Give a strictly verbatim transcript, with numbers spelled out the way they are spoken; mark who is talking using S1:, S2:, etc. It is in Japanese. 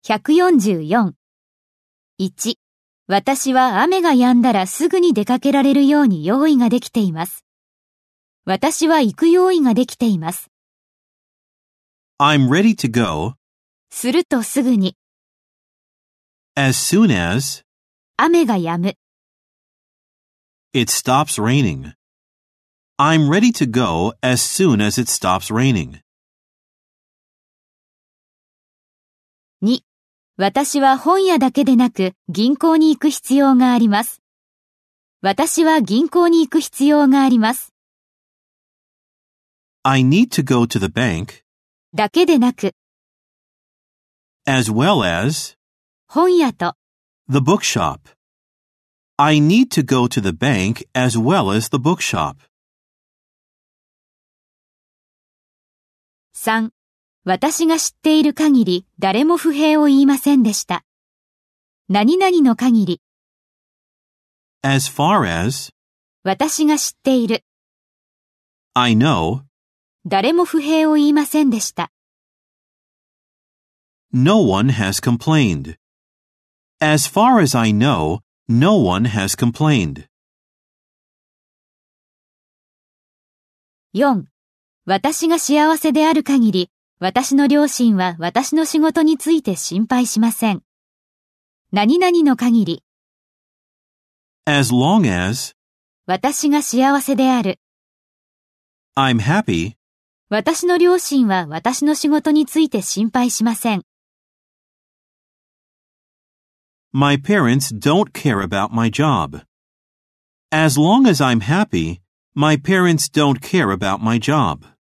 S1: ひゃくよんじゅうよん。いち、私は雨が止んだらすぐに出かけられるように用意ができています。私は行く用意ができています。
S2: I'm ready to go
S1: するとすぐに。
S2: as soon as
S1: 雨が止む。
S2: it stops raining. I'm ready to go as soon as it stops raining.
S1: に、私は本屋だけでなく銀行に行く必要があります。私は銀行に行く必要があります。
S2: I need to go to the bank
S1: だけでなく、
S2: as well as
S1: 本屋と
S2: the bookshop. I need to go to the bank as well as the bookshop.
S1: さん、私が知っている限り誰も不平を言いませんでした。何々の限り。
S2: As far as
S1: 私が知っている。
S2: I know
S1: 誰も不平を言いませんでした。
S2: no one has complained. As far as I know, no one has complained.
S1: よん、私が幸せである限り、私の両親は私の仕事について心配しません。何々の限り。
S2: As long as
S1: 私が幸せである。
S2: I'm happy,
S1: 私の両親は私の仕事について心配しません。
S2: my parents don't care about my job. As long as I'm happy, my parents don't care about my job.